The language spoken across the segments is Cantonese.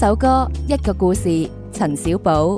首歌，一個故事，陳小寶。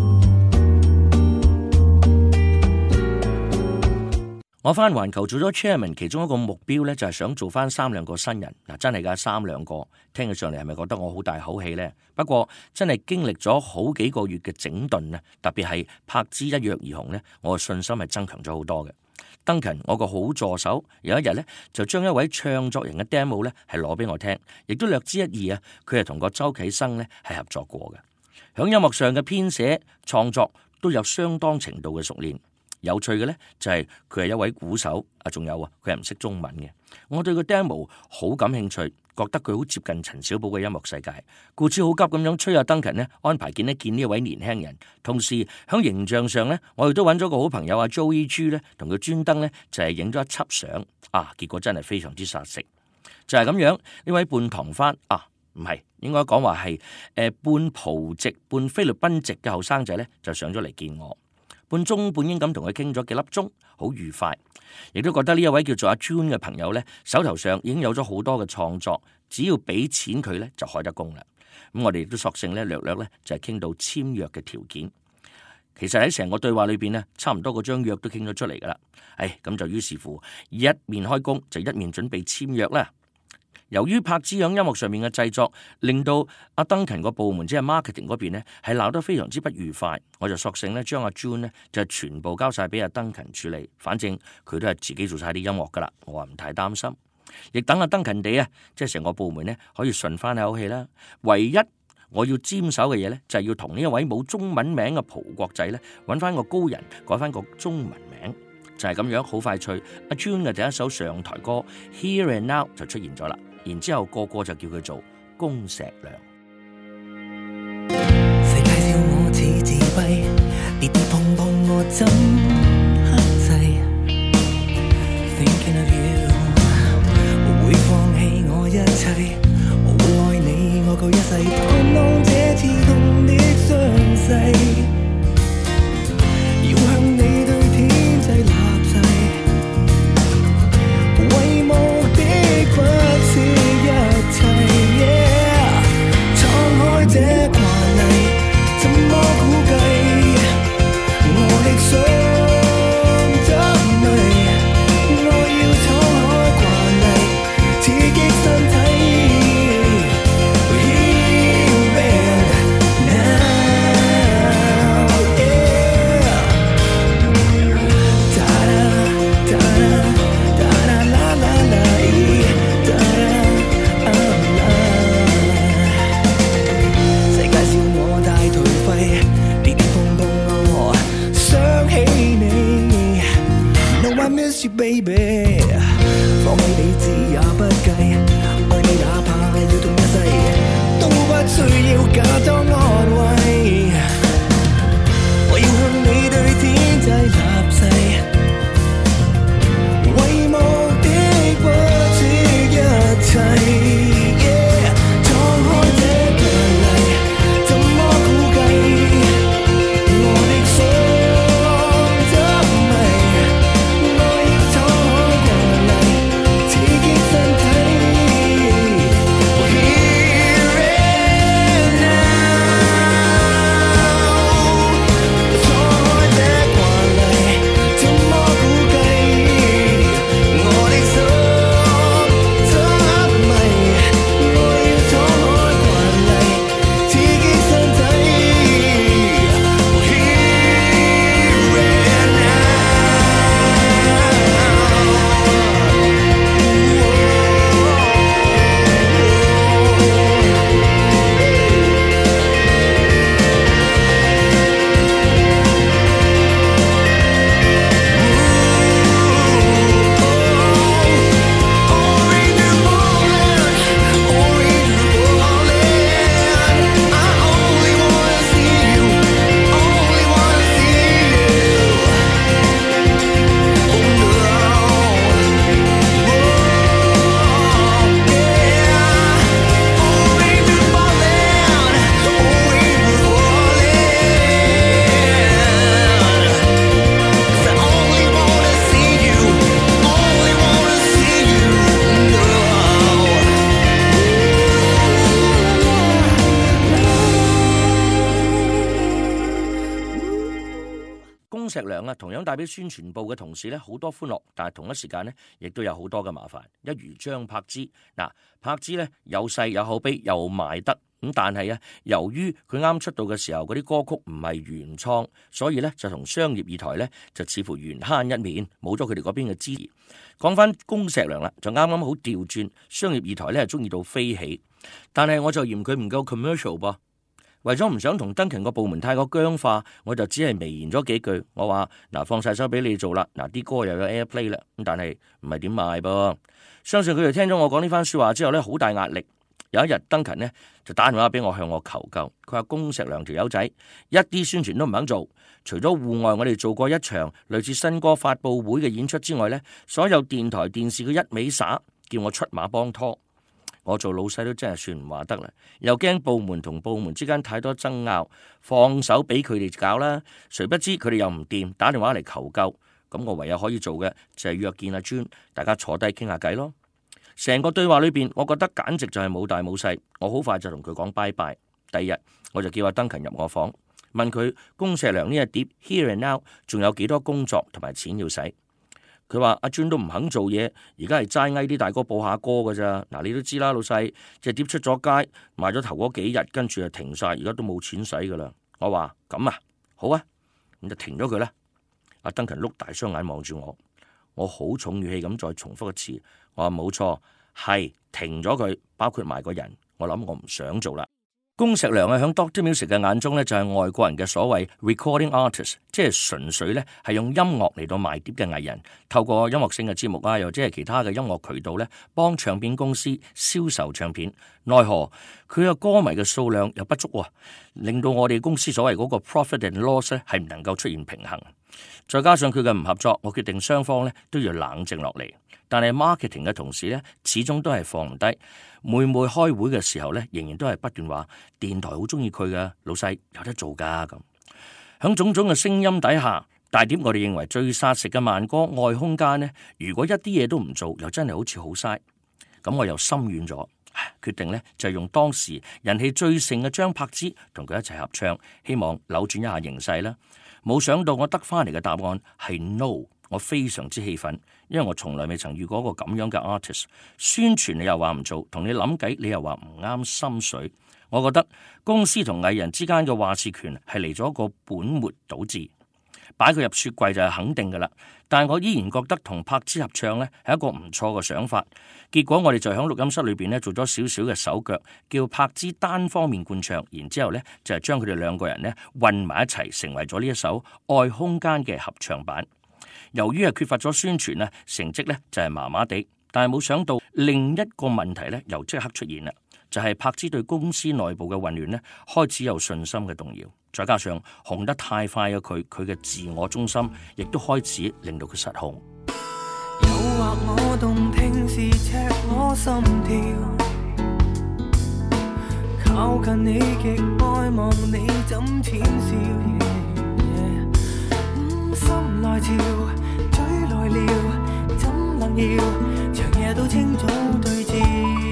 我翻環球做咗 chairman， 其中一個目標呢，就係想做翻3兩個新人。真係㗎，3兩個聽起上嚟係咪覺得我好大口氣呢？不過真係經歷咗好幾個月嘅整頓，特別係柏芝一躍而紅呢，我嘅信心係增強咗好多嘅。Duncan， 我個好助手，有一日呢，就將一位唱作人嘅 demo 呢係攞俾我聽，亦都略知一二啊。佢係同個周啟生呢係合作過嘅，響音樂上嘅編寫創作都有相當程度嘅熟練。有趣嘅呢，就係佢係一位鼓手，仲有佢係唔識中文嘅。我對個 demo 好感興趣，覺得佢好接近陳小寶嘅音樂世界，故此好急咁樣催阿 Duncan 呢安排見一見呢位年輕人。同時喺形象上呢，我亦都揾咗個好朋友阿 Joey G 呢，同佢專登呢就係影咗一輯相，結果真係非常之殺食。就係咁樣，呢位半唐番唔係應該講話係半葡籍半菲律賓籍嘅後生仔呢，就上咗嚟見我。半中半英咁同佢傾咗幾粒鐘，好愉快，亦都覺得呢一位叫做阿 June 嘅朋友呢，手頭上已經有咗好多嘅創作，只要俾錢佢呢，就開得工啦。咁我哋亦都索性呢，略略呢，就係傾到簽約嘅條件。其實喺成個對話裏邊呢，差唔多嗰張約都傾咗出嚟噶啦。咁就於是乎一面開工就一面準備簽約啦。由於柏芝響音樂上面嘅製作，令到阿 Duncan 個部門即係 marketing 嗰邊呢係鬧得非常之不愉快，我就索性呢將阿 June 呢就全部交晒俾阿 Duncan 處理，反正佢都係自己做晒啲音樂噶啦，我話唔太擔心，亦等阿 Duncan 哋即係成個部門呢可以順翻口氣啦。唯一我要沾手嘅嘢呢，就係要同呢一位冇中文名嘅葡國仔呢揾翻個高人，改翻個中文名，就係咁樣好快脆。阿 June 嘅第一首上台歌 Here and Now 就出現咗啦。然之後個個就叫佢做恭石良。 世界笑我似自閉，跌跌碰碰我怎克制 Thinking of you 會放棄我一切，我會愛你愛過一世，盼望這次痛的傷勢，要向你對天際立誓，為目的不是一切，敞開這慣例，怎麼估計？我的心怎迷？我要敞開慣例，刺激身體。Here and now 恭碩良啊，同樣帶俾宣傳部嘅同事咧好多歡樂，但係同一時間咧，亦都有好多嘅麻煩。一如張柏芝，柏芝咧有勢有口碑又賣得咁，但係啊，由於佢啱出道嘅時候嗰啲歌曲唔係原創，所以咧就同商業二台咧就似乎緣慳一面，冇咗佢哋嗰邊嘅支持。講翻恭碩良啦，就啱啱好調轉，商業二台咧係中意到飛起，但係我就嫌佢唔夠 commercial 噃。為咗唔想同Duncan個部門太過僵化，我就只係微言咗幾句。我話放晒手俾你做啦，啲歌又有 airplay 啦，咁但係唔係點賣噃。相信佢哋聽咗我講呢番說話之後呢，好大壓力。有一日Duncan呢就打電話俾我向我求救，佢話恭碩良條友仔一啲宣傳都唔肯做，除咗戶外我哋做過一場類似新歌發佈會嘅演出之外呢，所有電台電視佢一味耍，叫我出馬幫拖。我做老細都真係算唔話得啦，又驚部門同部門之間太多爭拗，放手俾佢哋搞啦。誰不知佢哋又唔掂，打電話嚟求救。咁我唯有可以做嘅就係約見阿尊，大家坐低傾下偈咯。成個對話裏邊，我覺得簡直就係冇大冇細。我好快就同佢講拜拜。第二日我就叫阿Duncan入我房，問佢恭碩良呢一碟 Here and Now 仲有幾多工作同埋錢要使。佢話阿尊都唔肯做嘢，而家係齋嗌啲大哥播下歌噶咋。你都知啦，老細隻碟出咗街，賣咗頭嗰幾日，跟住就停晒，而家都冇錢使噶啦。我話咁啊，好啊，咁就停咗佢啦。阿Duncan碌大雙眼望住我好重語氣咁再重複一次，我話冇錯，係停咗佢，包括埋個人。我諗我唔想做啦。恭碩良喺 Dr. Music 嘅眼中咧，就係外國人嘅所謂 recording artist， 即係純粹咧係用音樂嚟到賣碟嘅藝人，透過音樂性嘅節目啊，又或者係其他嘅音樂渠道咧，幫唱片公司銷售唱片。奈何佢嘅歌迷嘅數量又不足喎，令到我哋公司所謂嗰個 profit and loss 咧係唔能夠出現平衡。再加上佢嘅唔合作，我決定雙方咧都要冷靜落嚟。但係 marketing 嘅同事咧，始終都係放唔低。每開會嘅時候咧，仍然都係不斷話電台好中意佢嘅，老細有得做噶咁。響種種嘅聲音底下，大碟我哋認為最殺食嘅慢歌《愛空間》呢，如果一啲嘢都唔做，又真係好似好嘥。咁我又心軟咗，決定呢就係用當時人氣最盛嘅張柏芝同佢一齊合唱，希望扭轉一下形勢啦。冇想到我得翻嚟嘅答案係 no。我非常之氣憤，因為我從來未曾遇過一個咁樣嘅 artist。宣傳你又話唔做，同你諗計你又話唔啱心水。我覺得公司同藝人之間嘅話事權係嚟咗一個本末倒置，擺佢入雪櫃就係肯定噶啦。但係我依然覺得同柏芝合唱呢係一個唔錯嘅想法。結果我哋就喺錄音室裏邊呢做咗少少嘅手腳，叫柏芝單方面灌唱，然之後呢就係將佢哋兩個人呢混埋一齊，成為咗呢一首《愛空間》嘅合唱版。由於係缺乏咗宣傳咧，成績咧就係麻麻地，但係冇想到另一個問題咧又即刻出現啦，就係柏芝對公司內部嘅混亂咧開始有信心嘅動搖，再加上紅得太快嘅佢嘅自我中心，亦都開始令到佢失控。 誘惑我動聽是赤裸心跳，靠近你極愛望你怎淺笑。心來潮，嘴來撩，怎能要長夜都清早對照？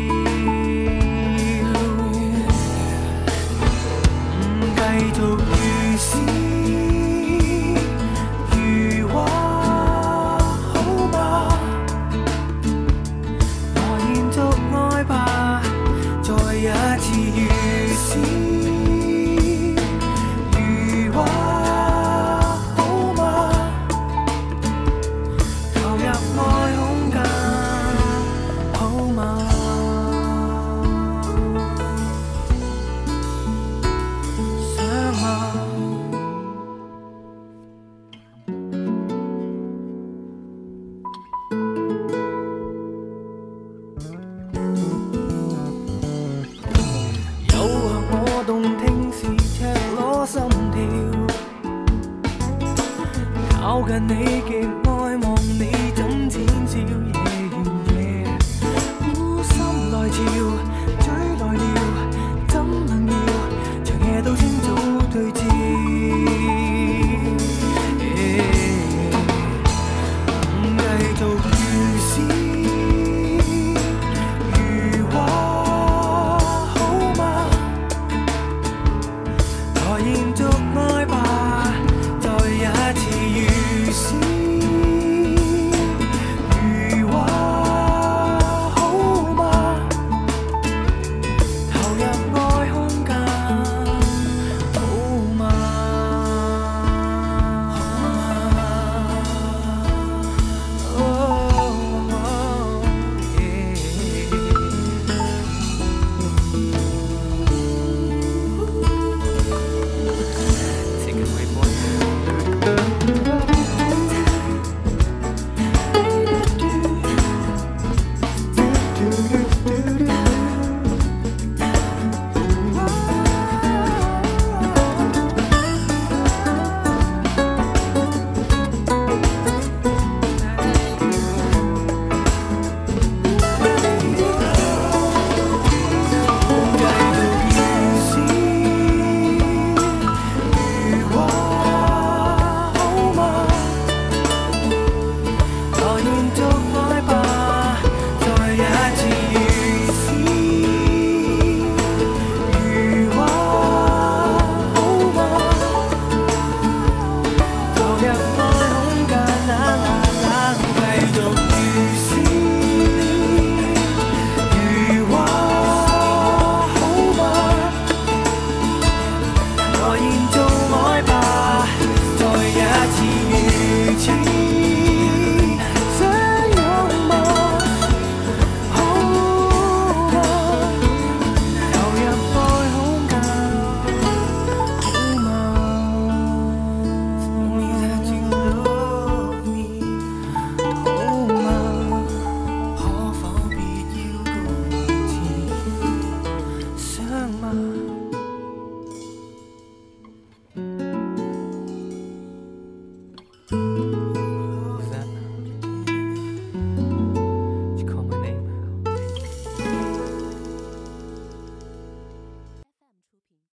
繼續如詩如畫，好嗎？來延續愛吧，再一次。